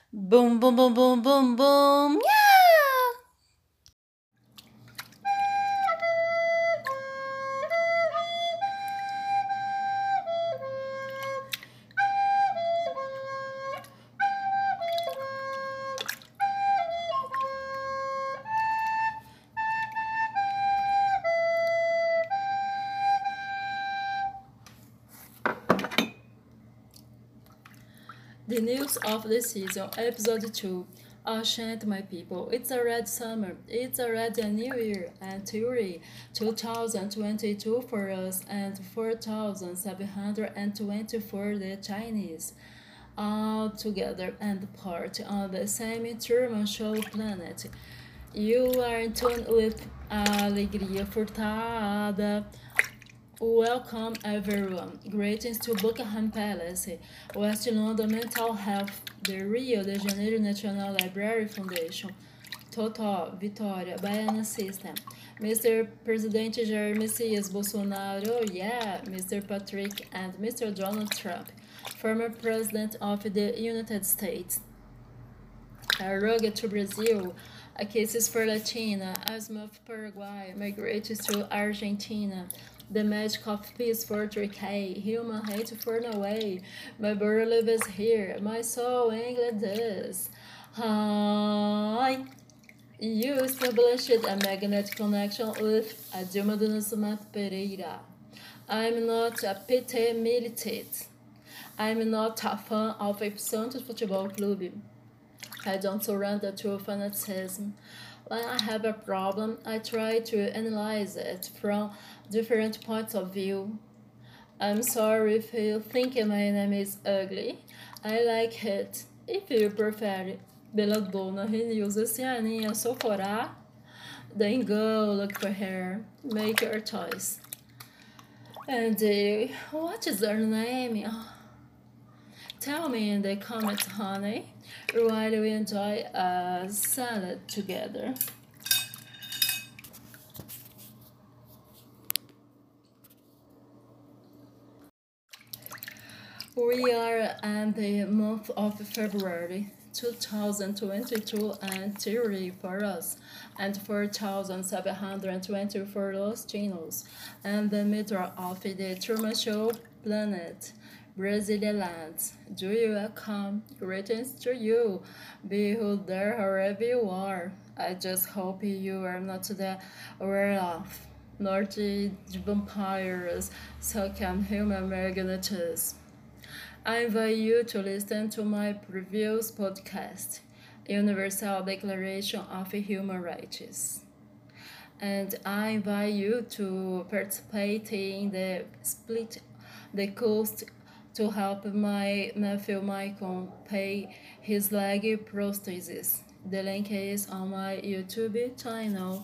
Boom, boom, boom, boom, boom, boom. Yeah! The news of the season, episode 2. Chant, my people. It's already summer. It's already a new year. And theory 2022 for us and 4720 for the Chinese. All together and part on the same Truman Show planet. You are in tune with Alegria Furtada. Welcome everyone. Greetings to Buckingham Palace, West London Mental Health, the Rio de Janeiro National Library Foundation, Total, Vitória, Baiana System, Mr. President Jair Messias Bolsonaro, yeah, Mr. Patrick and Mr. Donald Trump, former President of the United States. Arroga to Brazil, cases for Latina, asthma of Paraguay, migrates to Argentina, the magic of peace for Turkey, human hate for Norway, my bird lives here, my soul England is. Hi. You established a magnetic connection with Dilma do Nascimento Pereira. I'm not a PT militant. I'm not a fan of a Santos Futebol Clube. I don't surrender to fanaticism. When I have a problem, I try to analyze it from different points of view. I'm sorry if you think my name is ugly. I like it. If you prefer Bela Dona Renews Oceania Socorá, then go look for her. Make your choice. And what is her name? Tell me in the comments, honey, while we enjoy a salad together. We are in the month of February 2022 and 3 for us and 4720 for Los Chinos and the middle of the Truman Show planet. Brazilian lands, do you welcome? Greetings to you, be who there wherever you are. I just hope you are not the werewolf, nor the vampires, so can human magnetics. I invite you to listen to my previous podcast, Universal Declaration of Human Rights. And I invite you to participate in the split the cost to help my nephew Michael pay his leg prosthesis. The link is on my YouTube channel.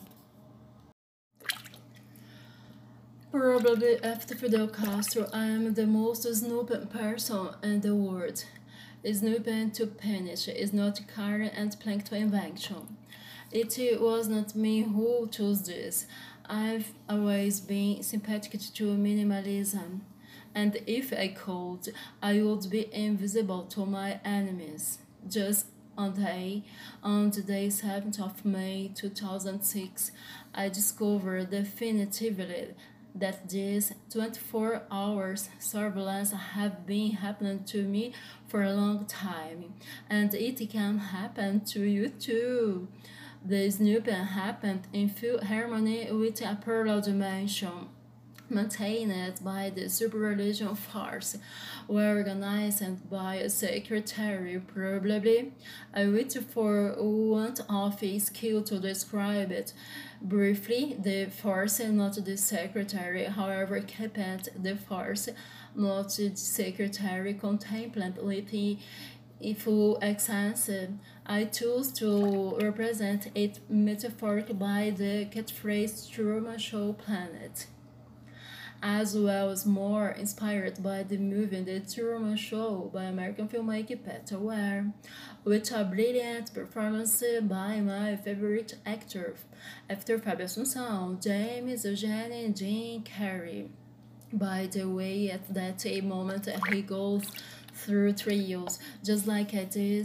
Probably after Fidel Castro, I am the most snooping person in the world. Snooping to punish is not Karen and Plankton invention. It was not me who chose this. I've always been sympathetic to minimalism, and if I could, I would be invisible to my enemies. Just on the day 7th of May 2006, I discovered definitively that these 24 hours surveillance have been happening to me for a long time, and it can happen to you too. The snooping happened in full harmony with a parallel dimension maintained by the super religion force, were organized by a secretary, probably. I wait for want of a skill to describe it. Briefly, the force, not the secretary, however, kept the force, not the secretary, contemplate with in full essence. I choose to represent it metaphorically by the catchphrase Truman Show Planet, as well as more inspired by the movie The Truman Show by American filmmaker Peter Weir, with a brilliant performance by my favorite actor, after Fábio Assunção, James Eugene and Jim Carrey. By the way, at that moment he goes through trials, just like I did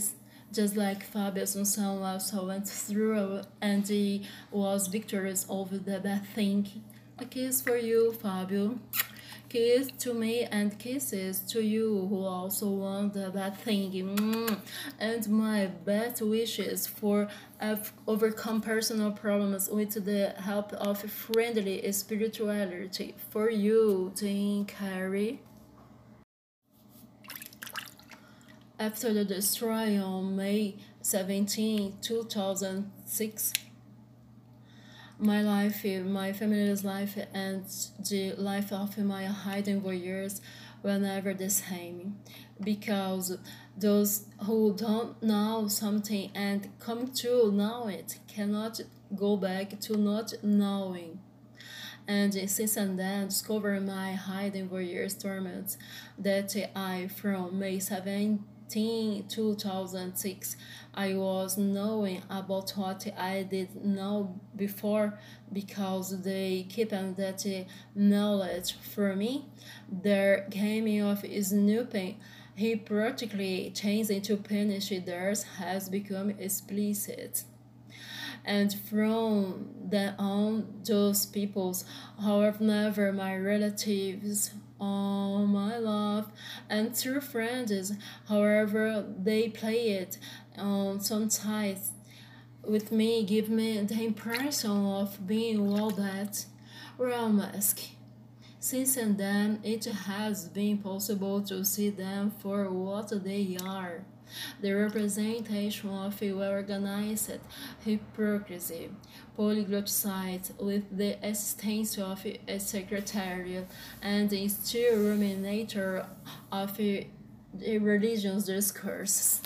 Just like Fabio Assunção also went through and he was victorious over the bad thing. A kiss for you, Fabio. Kiss to me and kisses to you who also want the bad thing. And my best wishes for overcome personal problems with the help of friendly spirituality. For you, Jim Carrey. After the destroy on May 17, 2006, my life, my family's life, and the life of my hidden warriors were never the same. Because those who don't know something and come to know it cannot go back to not knowing. And since and then discovered my hidden warriors torments that I from May 17, 2006 I was knowing about what I did know before because they keep that knowledge from me. Their game of snooping he practically changed into punish theirs has become explicit. And from then on, those peoples, however, never my relatives, all my love, and true friends, however, they play it on some sides with me, give me the impression of being all that real mask. Since and then, it has been possible to see them for what they are the representation of a well-organized hypocrisy, polyglot site with the assistance of a secretariat and a still ruminator of a religious discourse.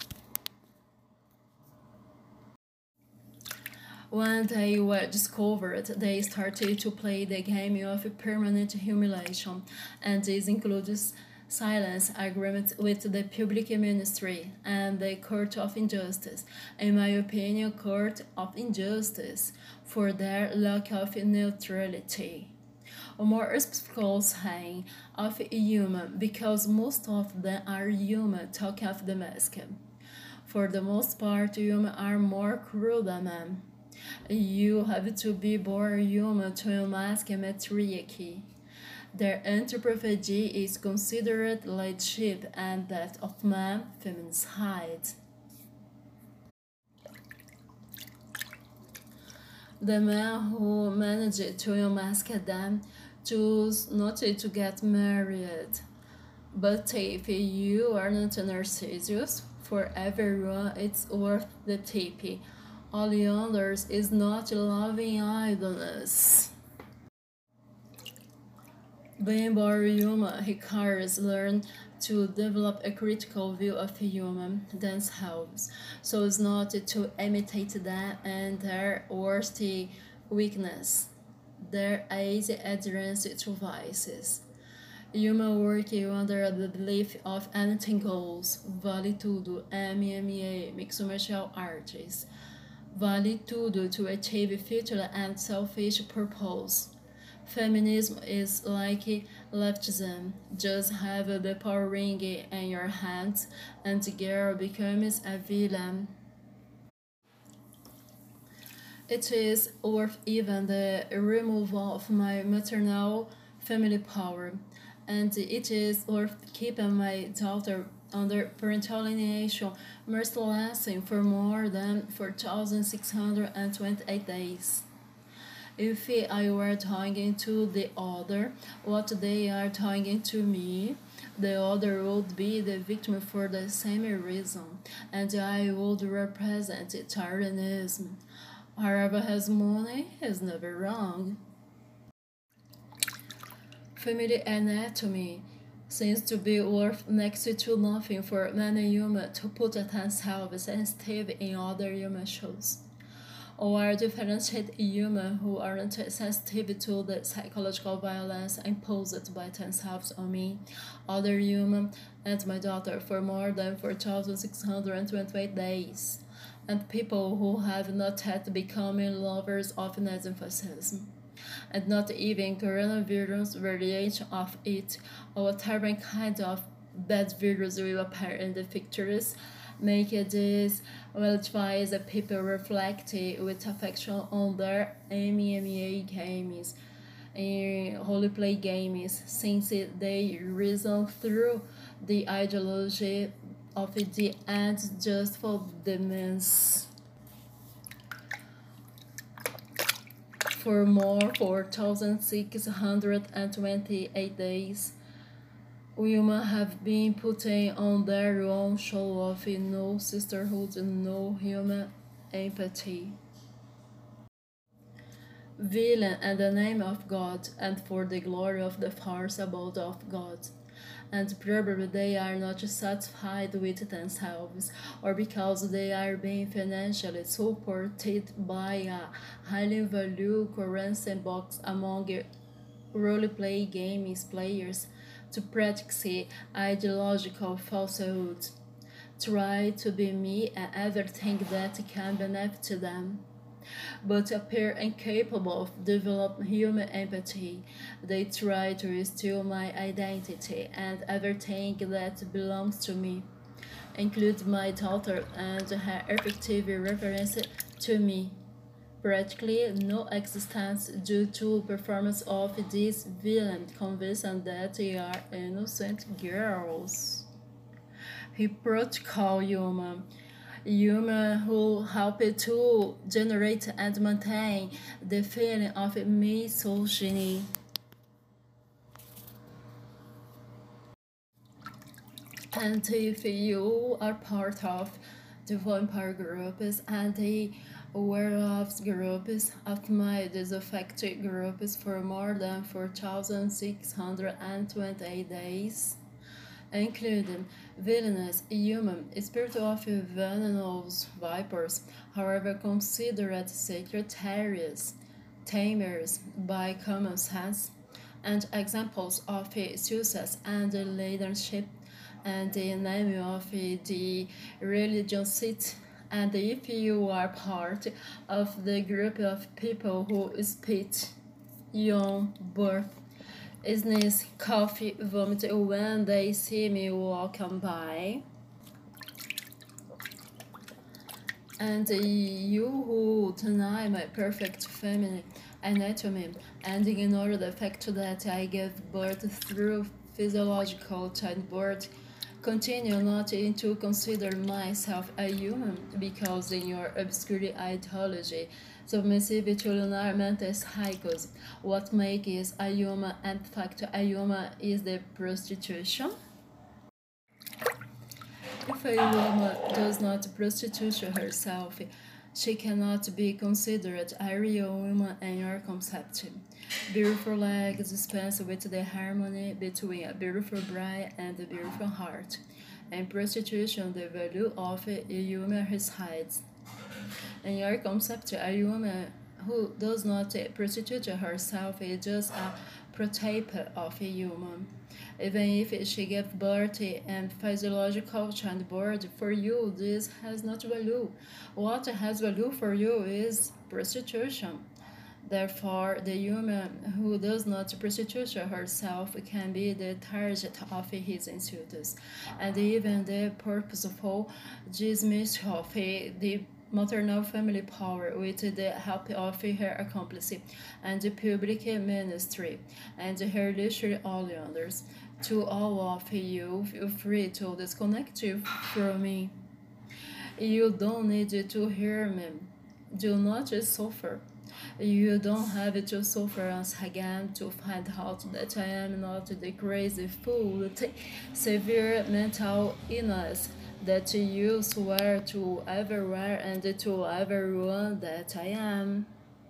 When they were discovered, they started to play the game of permanent humiliation, and this includes silence agreements with the public ministry and the court of injustice, in my opinion, court of injustice, for their lack of neutrality. Or more specifically saying of human, because most of them are human, talk of the mask. For the most part, human are more cruel than men. You have to be born human to unmask matriarchy. Their anthropophagy is considered leadership and that of man, feminicide. The men who managed to unmask them choose not to get married. But if you are not a Narcissus, for everyone it's worth the tip. All others is not loving idleness. Being born human requires learn to develop a critical view of human themselves, so as not to imitate them and their worst weakness, their easy adherence to vices. Human work under the belief of anything goes, vale tudo, MMA, mixed martial arts, vale tudo to achieve futile and selfish purpose. Feminism is like leftism. Just have the power ring in your hands and the girl becomes a villain. It is worth even the removal of my maternal family power, and it is worth keeping my daughter under parental alienation mercilessly for more than 4,628 days. If I were talking to the other, what they are talking to me, the other would be the victim for the same reason, and I would represent tyrannism. However, his money is never wrong. Family anatomy seems to be worth next to nothing for many humans to put themselves sensitive in other human shows. Or differentiate humans who aren't sensitive to the psychological violence imposed by themselves on me, other humans, and my daughter for more than 4,628 days, and people who have not yet become lovers of Nazifascism, and not even coronavirus variation of it, or whatever kind of bad virus will appear in the pictures, Make this which the people reflect with affection on their MMA games in roleplay games, since they reason through the ideology of the end just for demands. For more 4,628 days, women have been putting on their own show of no sisterhood, no human empathy. Villain in the name of God and for the glory of the farce abode of God. And probably they are not satisfied with themselves, or because they are being financially supported by a highly valued currency box among roleplay games players to practice ideological falsehoods. Try to be me and everything that can benefit them, but appear incapable of developing human empathy. They try to steal my identity and everything that belongs to me, include my daughter and her effective reference to me. Practically no existence due to performance of these villains convinced that they are innocent girls. Hypocritical human who help to generate and maintain the feeling of misogyny. And if you are part of the vampire groups and the werewolves groups of my disaffected groups for more than 4,628 days, including villainous human, spirit of venomous vipers, however considered sacred areas, tamers by common sense, and examples of success and leadership, and the name of the religion seat. And if you are part of the group of people who spit, yawn, birth, sneeze, cough, vomit when they see me walking by, and you who deny my perfect feminine anatomy and ignore the fact that I gave birth through physiological childbirth, continue not to consider myself a human because in your obscure ideology, submissive to lunar mental cycles, what makes a human and fact a human is the prostitution. If a woman does not prostitute herself, she cannot be considered a real woman in your concept. Beautiful legs dispense with the harmony between a beautiful brain and a beautiful heart. In prostitution, the value of a human resides. In your concept, a woman who does not prostitute herself is just a prototype of a human. Even if she gives birth and physiological childbirth, for you this has not value. What has value for you is prostitution. Therefore, the woman who does not prostitute herself can be the target of his insults, and even the purposeful dismissal of the maternal family power with the help of her accomplice and the public ministry and her literary audience. To all of you, feel free to disconnect from me. You don't need to hear me. Do not suffer. You don't have to suffer once again to find out that I am not the crazy fool with severe mental illness that you swear to everywhere and to everyone that I am.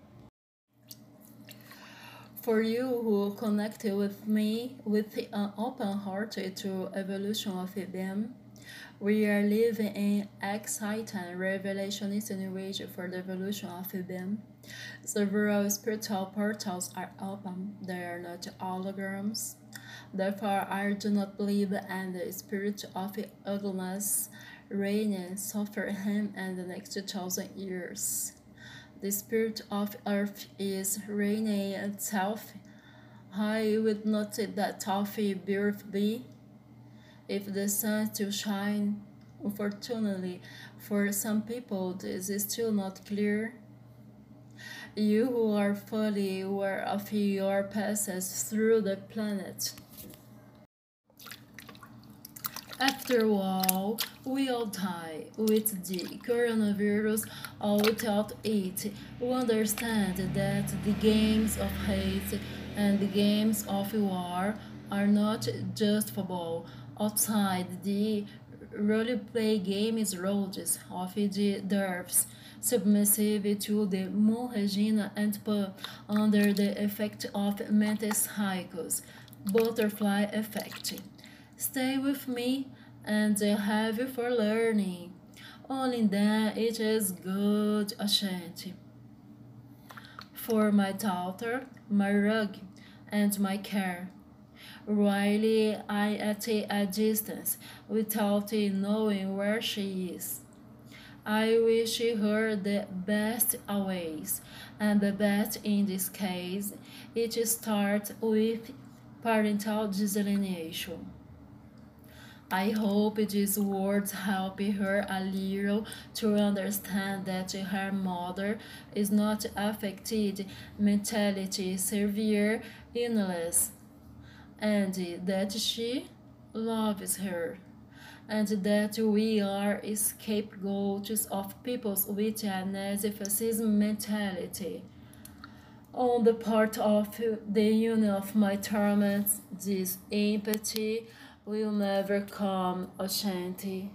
For you who connect with me with an open heart to evolution of them, we are living in exciting revelationist new age for the evolution of them. Several spiritual portals are open, they are not holograms. Therefore, I do not believe in the spirit of ugliness reigning suffer him in the next 2,000 years. The spirit of earth is reigning itself. I would not that of birth be if the sun still shine Unfortunately, for some people, this is still not clear. You who are fully aware of your passes through the planet. After all, we all die with the coronavirus or without it. We understand that the games of hate and the games of war are not just football. Outside the roleplay games roads of the derps, submissive to the moon Regina and Pan under the effect of mental cycles, butterfly effect. Stay with me and have you for learning. Only then it is good, Ashanti. For my daughter, my rug, and my care. While I at a distance, without knowing where she is. I wish her the best always, and the best in this case, it starts with parental delineation. I hope these words help her a little to understand that her mother is not affected mentality severe illness and that she loves her and that we are scapegoats of people with a Nazi-fascism mentality. On the part of the union of my torments, this empathy will never come, Ashanti.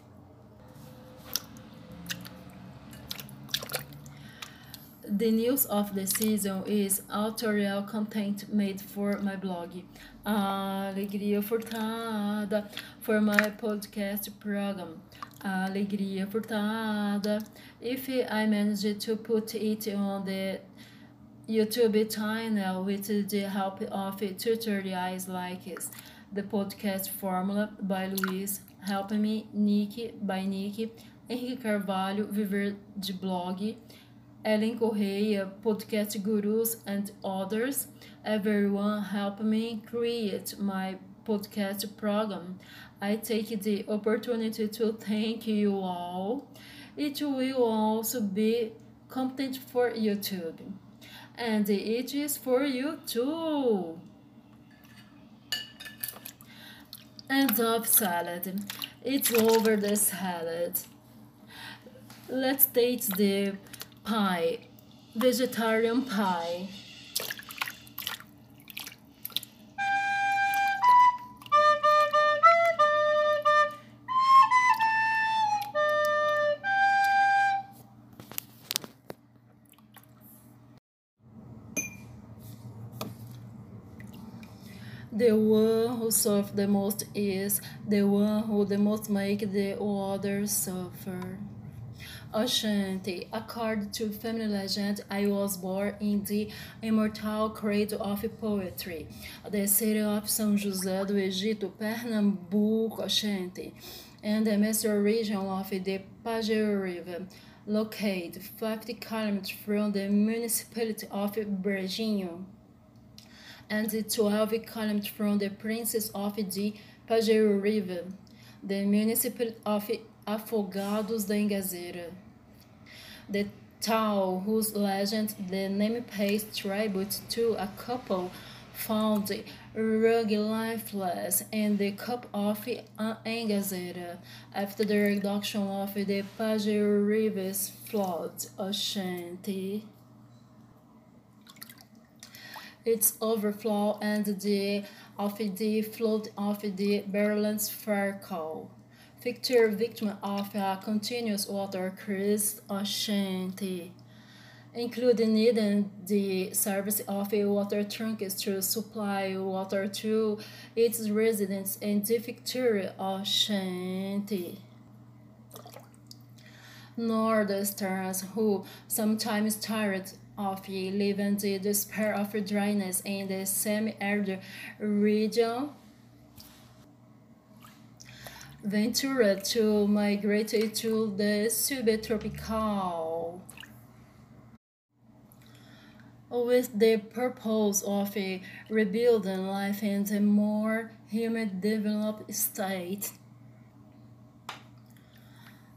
The news of the season is autorial content made for my blog. Alegria Furtada for my podcast program. Alegria Furtada. If I manage to put it on the YouTube channel with the help of tutorials like the podcast formula by Luiz, Help Me, Nick by Nick, Henrique Carvalho, Viver de Blog, Ellen Correia, Podcast Gurus, and others. Everyone help me create my podcast program. I take the opportunity to thank you all. It will also be content for YouTube. And it is for you too. End of salad. It's over the salad. Let's taste the pie. Vegetarian pie. The one who suffers the most is the one who the most make the others suffer. Ashanti, according to family legend, I was born in the immortal cradle of poetry, the city of São José do Egito, Pernambuco, Ashanti, and the master region of the Pajero River, located 50 kilometers from the municipality of Brejinho and 12 kilometers from the Princess of the Pajero River, the municipality of Afogados da Engazeira. The town whose legend the name pays tribute to a couple found rugged lifeless in the cup of Engazeira after the reduction of the Pajero River's flood. Ashanti. Its overflow and the of the flood of the Berland's Farcal. Victor, victim of a continuous water cruise, Ashanti, including needing the service of a water trunks to supply water to its residents in the Victoria, Ashanti. Northeasterners who sometimes tired of living the despair of dryness in the semi-arid region ventured to migrate to the subtropical with the purpose of rebuilding life in a more humid developed state.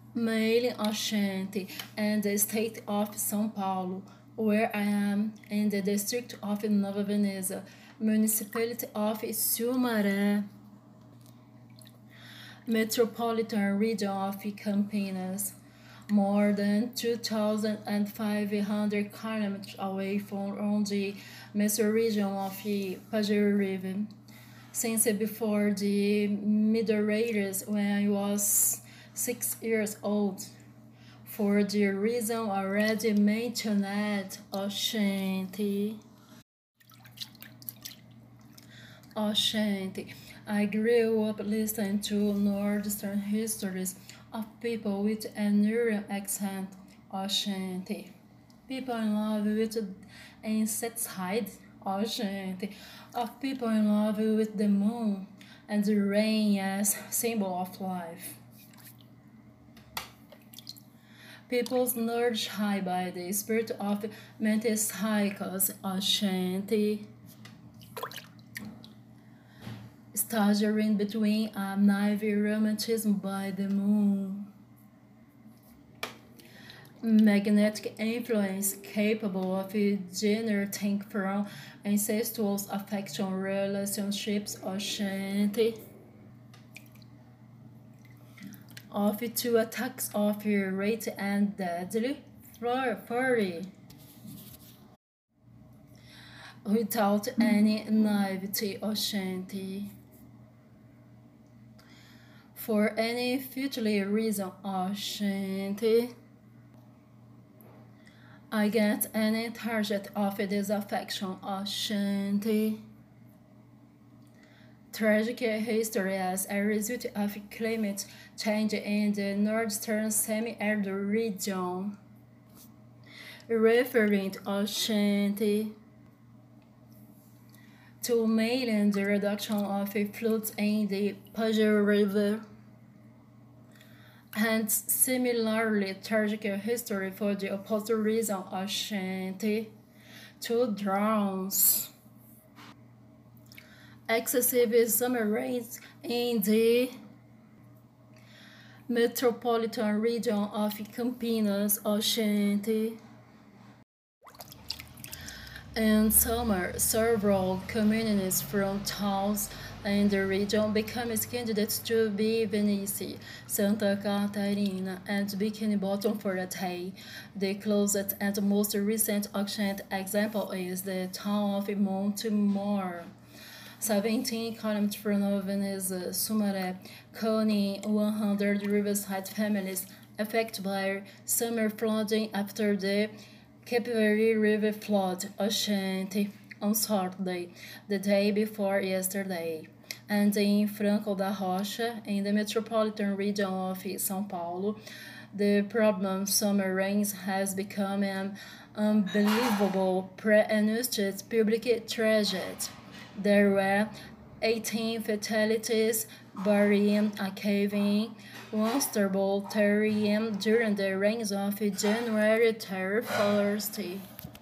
Male Oxente and the state of São Paulo, where I am in the district of Nova Veneza, municipality of Sumaré, metropolitan region of Campinas, more than 2,500 kilometers away from the mesoregion of Pajero River. Since before the Middle Ages, when I was 6 years old, for the reason already mentioned, Oxente. I grew up listening to Northern histories of people with an Aryan accent, Oxente. People in love with insects hide, Oxente. Of people in love with the moon and the rain as symbol of life. People's nourished high by the spirit of metempsychos, Oxente. Staggering between a naive romanticism by the moon. Magnetic influence capable of generating from incestuous affection relationships, Oxente. Of two attacks of rate and deadly fury. Without any naivety, Oxente. For any futile reason, Oxente. I get any target of disaffection, Oxente. Tragic history as a result of climate change in the northern semi-arid region. Referring to Oxente. To mainland the reduction of floods in the Pajero River. And similarly tragic history for the opposite reason, Oxente. To droughts. Excessive summer rains in the metropolitan region of Campinas, Oxente. In summer, several communities from towns in the region become candidates to be Venice, Santa Catarina, and Bikini Bottom for a day. The closest and most recent Oxente example is the town of Montemor, 17 kilometers from Nova Veneza, Sumaré, county 100 riverside families affected by summer flooding after the Capivari River flood, Oxente, on Saturday, the day before yesterday, and in Franco da Rocha, in the metropolitan region of São Paulo, the problem summer rains has become an unbelievable pre-announced public tragedy. There were 18 fatalities, burying a cave-in one stable terrarium during the rains of January 31st.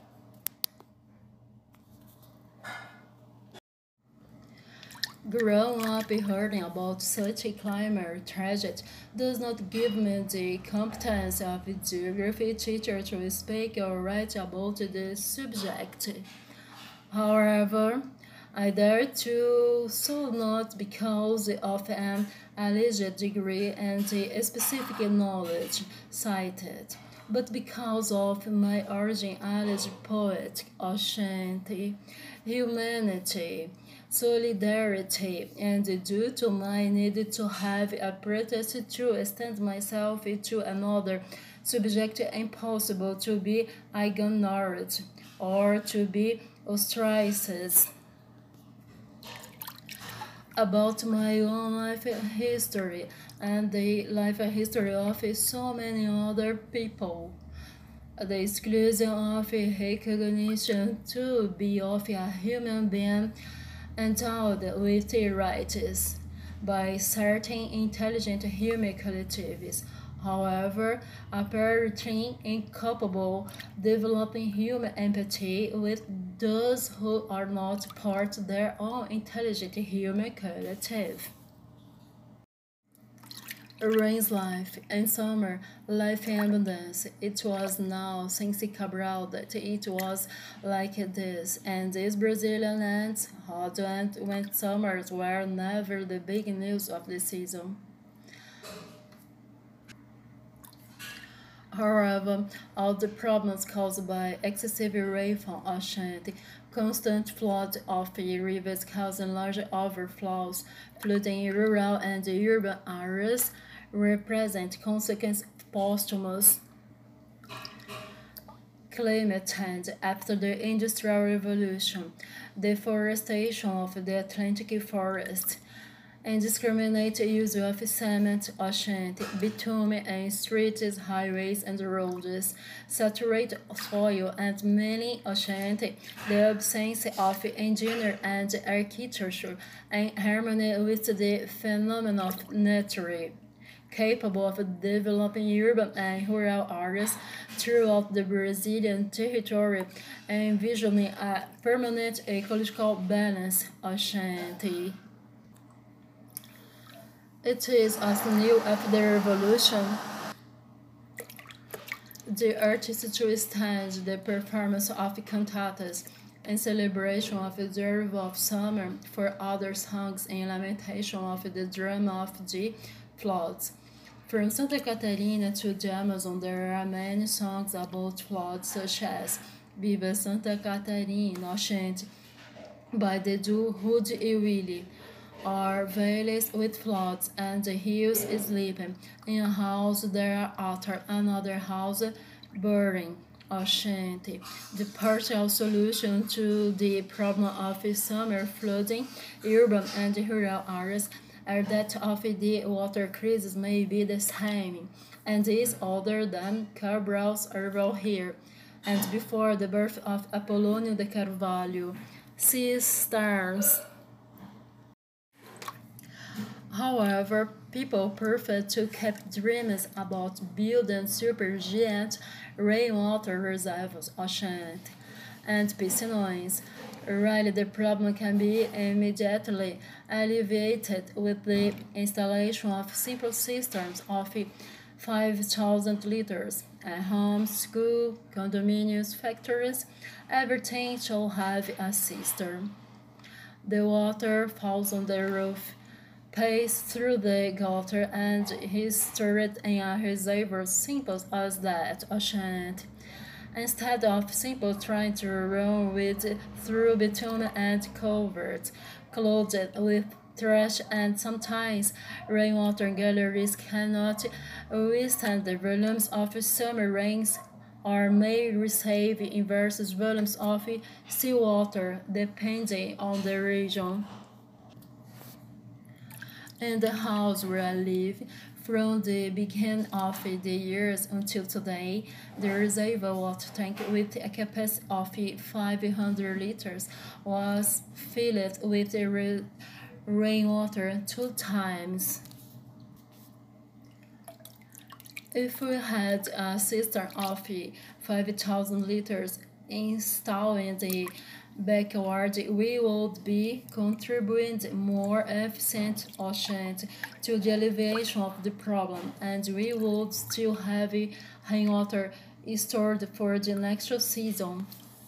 Growing up hearing about such a climate tragedy does not give me the competence of a geography teacher to speak or write about the subject. However, I dare to so not because of an alleged degree and the specific knowledge cited, but because of my origin as poet, Oxente, humanity, solidarity, and due to my need to have a pretext to extend myself to another subject impossible to be ignored or to be ostracized. About my own life history and the life history of so many other people. The exclusion of recognition to be of a human being endowed with rights by certain intelligent human collectives, however, apparently incapable developing human empathy with those who are not part of their own intelligent human collective. Rain's life in summer, life in abundance. It was now since Cabral that it was like this, and these Brazilian lands, hot and wet summers were never the big news of the season. However, all the problems caused by excessive rainfall and constant flood of rivers causing large overflows, flooding in rural and urban areas, represent consequence of posthumous climate change after the Industrial Revolution, deforestation of the Atlantic forest, indiscriminate use of cement, ocean, bitumen in streets, highways, and roads, saturate soil, and many ocean, the absence of engineering and architecture in harmony with the phenomenon of nature capable of developing urban and rural areas throughout the Brazilian territory, envisioning a permanent ecological balance. Ashanti. It is as new after the revolution. The artists to stage the performance of cantatas in celebration of the arrival of summer, for other songs in lamentation of the drama of the floods. From Santa Catarina to the Amazon, there are many songs about floods, such as Viva Santa Catarina, Oxente, by the duo Rude e Willie, or valleys with floods and the hills sleeping. In a house there after another house burning. Oxente, the partial solution to the problem of summer flooding, urban and rural areas, are that of the water crisis may be the same, and is other than Cabral's arrival here, and before the birth of Apolonio de Carvalho. Sea stars. However, people prefer to keep dreams about building supergiant rainwater reservoirs, oceans, and piscinas. Really, the problem can be immediately alleviated with the installation of simple systems of 5,000 liters at homes, schools, condominiums, factories. Everything shall have a cistern. The water falls on the roof, passes through the gutter, and is stored in a reservoir simple as that, ocean. Instead of simply trying to run with through bitumen and culverts, clothed with trash, and sometimes rainwater galleries cannot withstand the volumes of summer rains or may receive inverse volumes of seawater depending on the region. In the house where I live, from the beginning of the years until today, the reservoir water tank with a capacity of 500 liters was filled with rainwater 2 times. If we had a cistern of 5,000 liters installed in the backward, we would be contributing more efficient ocean to the alleviation of the problem, and we would still have rainwater stored for the next season.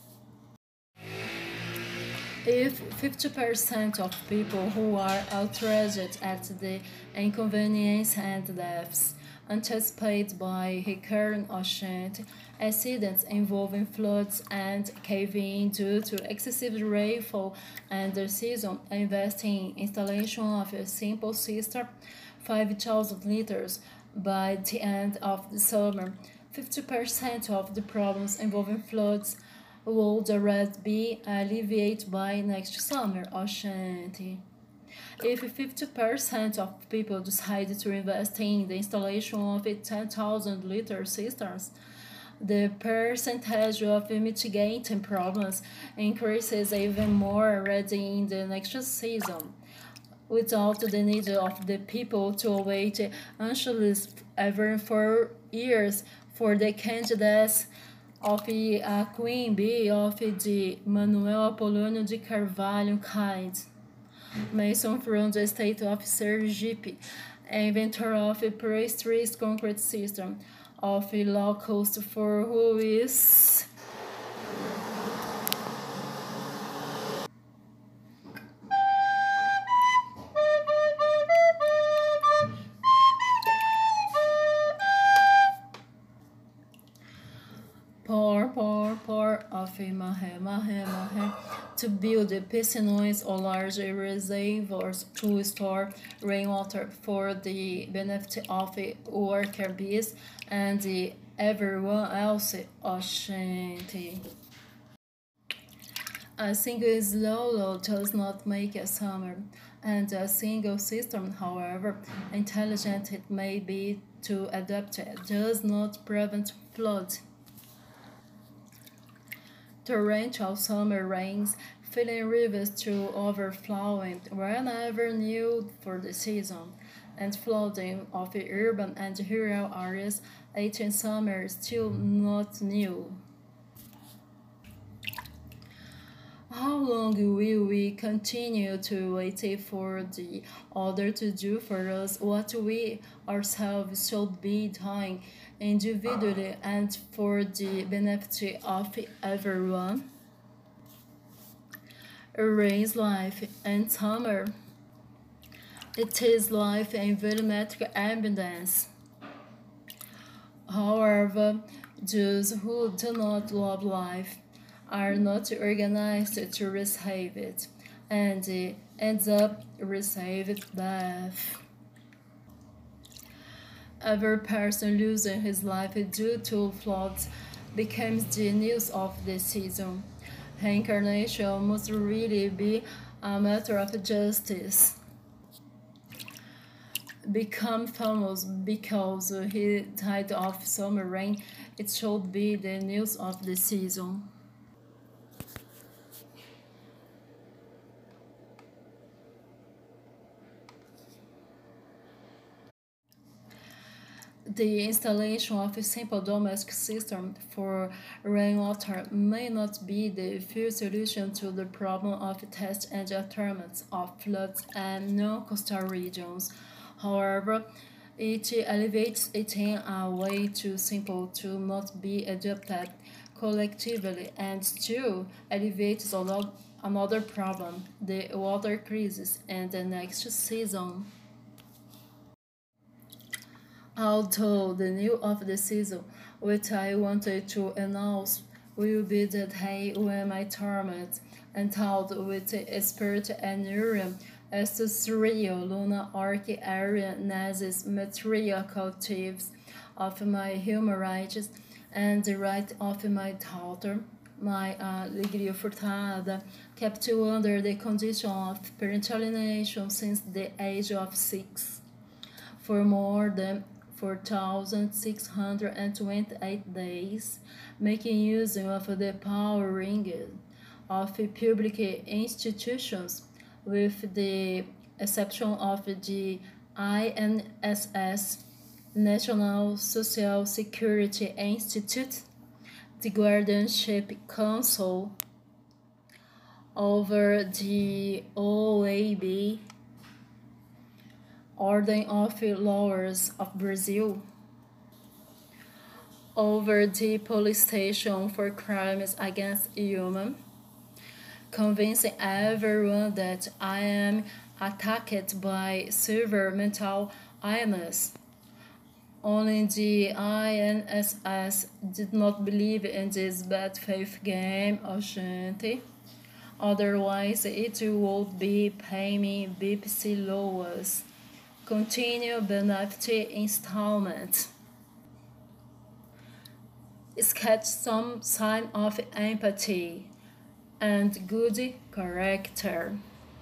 If 50% of people who are outraged at the inconvenience and deaths anticipated by recurring ocean accidents involving floods and cave-in due to excessive rainfall and the season invest in installation of a simple system, 5,000 liters by the end of the summer, 50% of the problems involving floods would already be alleviated by next summer, Ashanti. If 50% of people decide to invest in the installation of 10,000 liter cisterns, the percentage of mitigating problems increases even more already in the next season, without the need of the people to wait anxiously ever for years for the candidates of a queen bee of the Manuel Apolonio de Carvalho kind. Mason from the state of Sergipe inventor of a pre-stressed concrete system of a low cost for who is pour of a mahe to build piscines or large reservoirs to store rainwater for the benefit of worker bees and everyone else. Oxente. A single slow does not make a summer, and a single system, however intelligent it may be to adapt it, does not prevent floods. Torrential summer rains, filling rivers to overflowing whenever new for the season, and flooding of the urban and rural areas, 18 summers still not new. How long will we continue to wait for the other to do for us what we ourselves should be doing individually and for the benefit of everyone? Rain's life and summer. It is life in volumetric abundance. However, those who do not love life are not organized to receive it, and ends up receiving death. Every person losing his life due to floods becomes the news of the season. Reincarnation must really be a matter of justice. Become famous because he died of summer rain, it should be the news of the season. The installation of a simple domestic system for rainwater may not be the full solution to the problem of test and treatment of floods and non-coastal regions. However, it elevates it in a way too simple to not be adopted collectively and still elevates another problem, the water crisis in the next season. Although the news of the season, which I wanted to announce, will be the day when my torment, endowed with spirit and Urium, as the three lunar arc area nazis material cultives of my human rights and the right of my daughter, my alegria furtada, kept under the condition of parental alienation since the age of 6 for more than 4,628 days, making use of the power ring of public institutions, with the exception of the INSS, National Social Security Institute, the Guardianship Council over the OAB, Ordem of Lawyers of Brazil, over the police station for crimes against human, convincing everyone that I am attacked by severe mental illness. Only the INSS did not believe in this bad faith game, Oxente. Otherwise, it would be paying me BPC loans. Continue benefit installment. Sketch some sign of empathy and good character.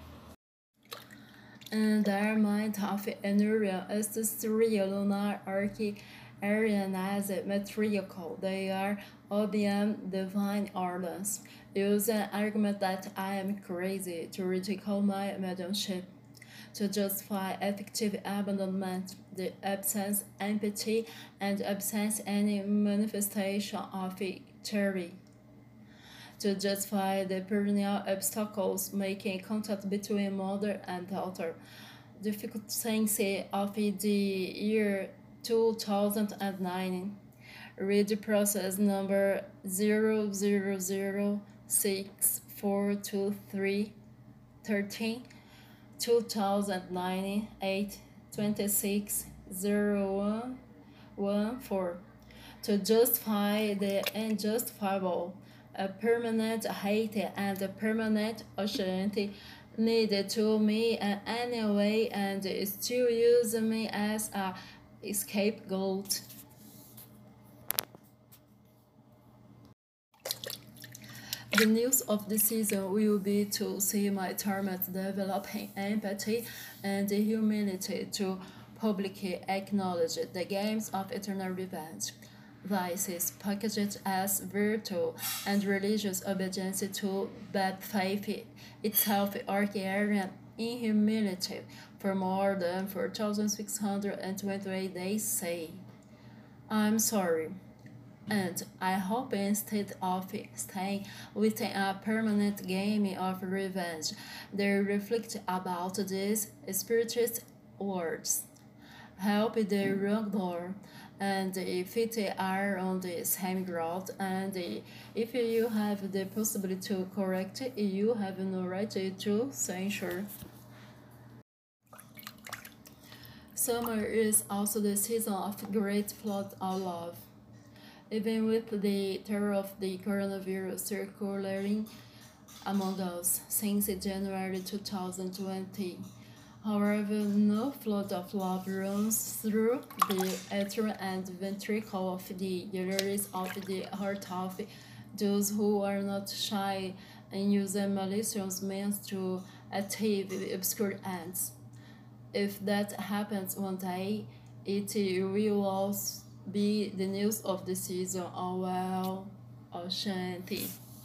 And their mind of Enuria is the three lunar archi Arian as matriarchal. They are OBM divine orders. Use an argument that I am crazy to ridicule my mediumship. To justify effective abandonment, the absence empathy and absence any manifestation of theory. To justify the perennial obstacles making contact between mother and daughter, difficulty of the year 2009. Read process number 000642313 2009 8 26 0114 to justify the unjustifiable. A permanent hate and a permanent assurance needed to me anyway and still use me as a scapegoat. The news of the season will be to see my teammates developing empathy and humility to publicly acknowledge the games of eternal revenge. Vices packaged as virtue and religious obedience to bad faith itself Archarian in humility for more than 4,628 days say. I'm sorry. And I hope instead of staying within a permanent game of revenge, they reflect about these spirituous words. Help the wrongdoer, and if it are on the same ground, and if you have the possibility to correct, you have no right to censure. Summer is also the season of great flood of love. Even with the terror of the coronavirus circulating among us since January 2020. However, no flood of love runs through the atrium and ventricle of the arteries of the heart of those who are not shy and use malicious means to achieve obscure ends. If that happens one day, it will also be the news of the season. Oh well, Ashanti.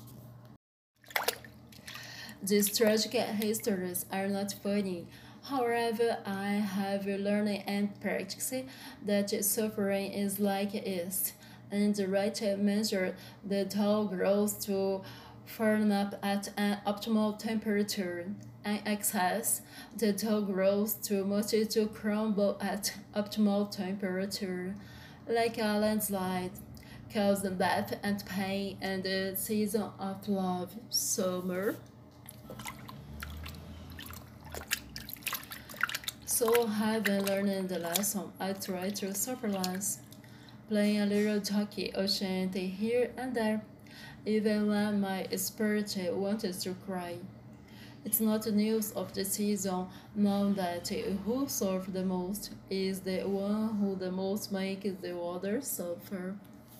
These tragic histories are not funny. However, I have learned and practiced that suffering is like yeast. And the right measure, the dough grows to firm up at an optimal temperature. In excess, the dough grows too much to crumble at optimal temperature, like a landslide, causing death and pain and the season of love, summer. So having learned the lesson, I try to suffer less, playing a little jockey Ashanti here and there, even when my spirit wanted to cry. It's not the news of the season now that who suffers the most is the one who the most makes the others suffer.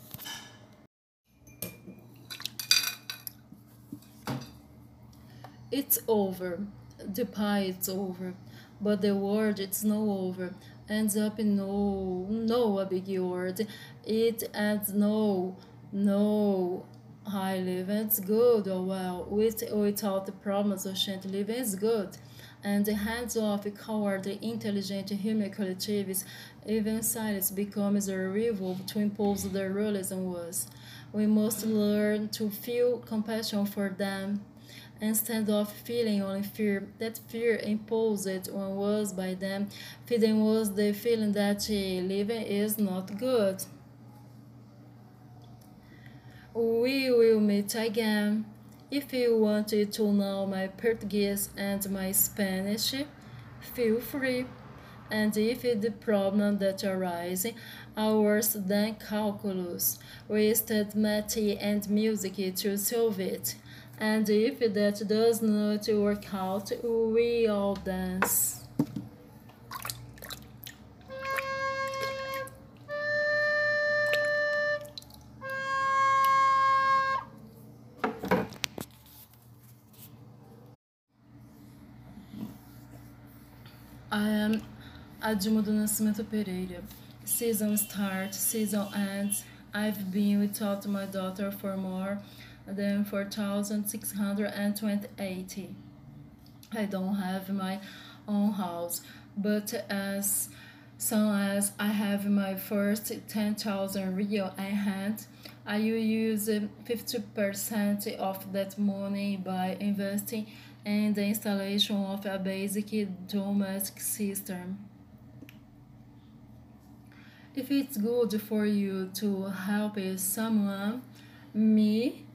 It's over. The pie is over. But the word it's no over. Ends up in no a big word. It ends no. High living's good or well, without the problems of shan't living is good. And the hands off coward, intelligent human collectives, even silence becomes a revolve to impose their rules on us. We must learn to feel compassion for them instead of feeling only fear. That fear imposed on us by them, feeding us the feeling that living is not good. We will meet again. If you wanted to know my Portuguese and my Spanish, feel free. And if the problem that arises are worse than calculus, we study math and music to solve it. And if that does not work out, we all dance. I am Adilma do Nascimento Pereira. Season starts, season ends. I've been without my daughter for more than 4,628. I don't have my own house, but as soon as I have my first 10,000 real in hand, I will use 50% of that money by investing and the installation of a basic domestic system. If it's good for you to help someone, me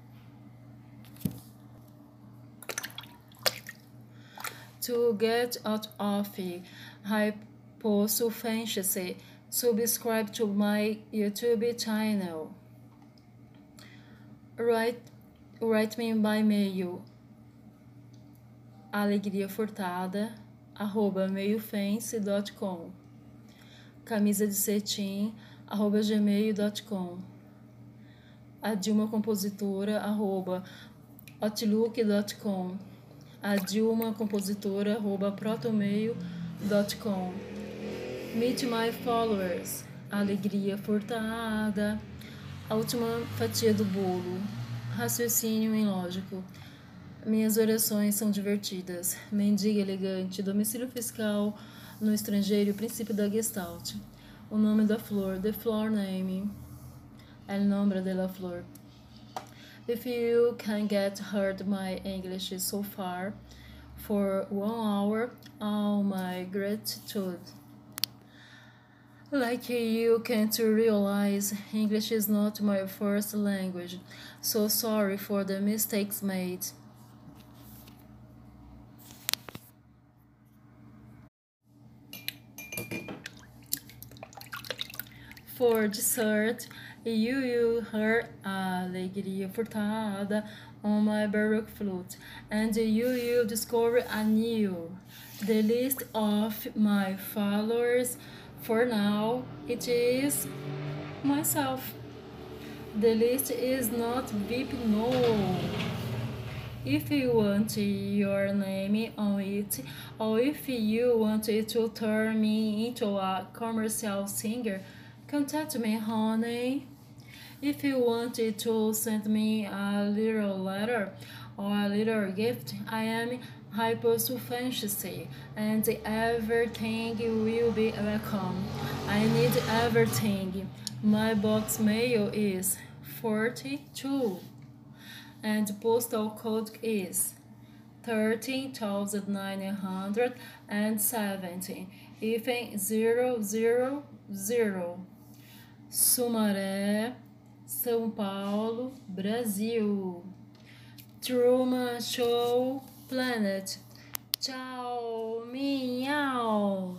to get out of hyposufficiency, subscribe to my YouTube channel. Write me by mail alegriafurtada@meiofence.com, camisa de cetim @gmail.com, a Dilma Compositora @outlook.com, a Dilma Compositora @protomail.com. Meet my followers, alegria furtada, a última fatia do bolo, raciocínio ilógico. Minhas orações são divertidas. Mendiga elegante, domicílio fiscal no estrangeiro, princípio da Gestalt. O nome da flor, the flower name. El nombre de la flor. If you can get heard my English so far for 1 hour, all my gratitude. Like you can't realize, English is not my first language, so sorry for the mistakes made. For dessert, you will hear alegria furtada on my baroque flute, and you will discover anew the list of my followers. For now, it is myself. The list is not VIP, no. If you want your name on it, or if you want to turn me into a commercial singer, contact me, honey. If you wanted to send me a little letter or a little gift, I am hyposufficiency, and everything will be welcome. I need everything. My box mail is 42, and postal code is 13,970, even 000. Sumaré, São Paulo, Brasil. Truman Show Planet. Tchau, miau.